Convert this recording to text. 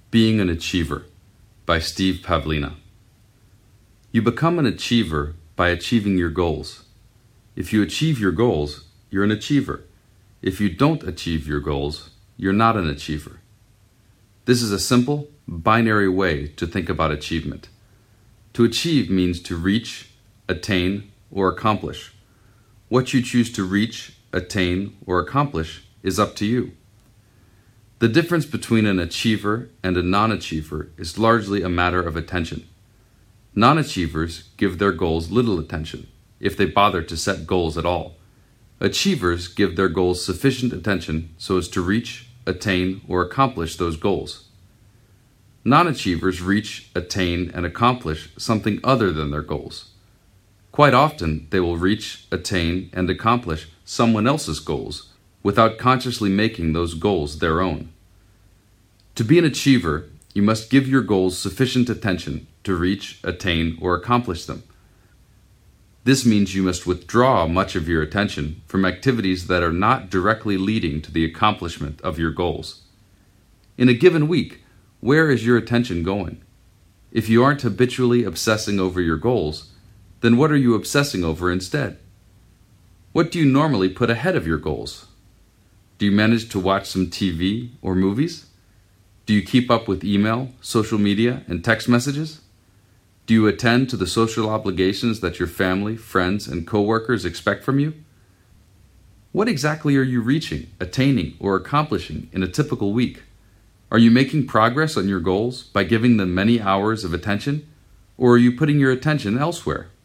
Being an Achiever by Steve Pavlina. You become an achiever by achieving your goals. If you achieve your goals, you're an achiever. If you don't achieve your goals, you're not an achiever. This is a simple, binary way to think about achievement. To achieve means to reach, attain, or accomplish. What you choose to reach, attain, or accomplish is up to you. The difference between an achiever and a non-achiever is largely a matter of attention. Non-achievers give their goals little attention, if they bother to set goals at all. Achievers give their goals sufficient attention so as to reach, attain, or accomplish those goals. Non-achievers reach, attain, and accomplish something other than their goals. Quite often, they will reach, attain, and accomplish someone else's goals without consciously making those goals their own. To be an achiever, you must give your goals sufficient attention to reach, attain, or accomplish them. This means you must withdraw much of your attention from activities that are not directly leading to the accomplishment of your goals. In a given week, where is your attention going? If you aren't habitually obsessing over your goals, then what are you obsessing over instead? What do you normally put ahead of your goals? Do you manage to watch some TV or movies? Do you keep up with email, social media, and text messages? Do you attend to the social obligations that your family, friends, and coworkers expect from you? What exactly are you reaching, attaining, or accomplishing in a typical week? Are you making progress on your goals by giving them many hours of attention, or are you putting your attention elsewhere?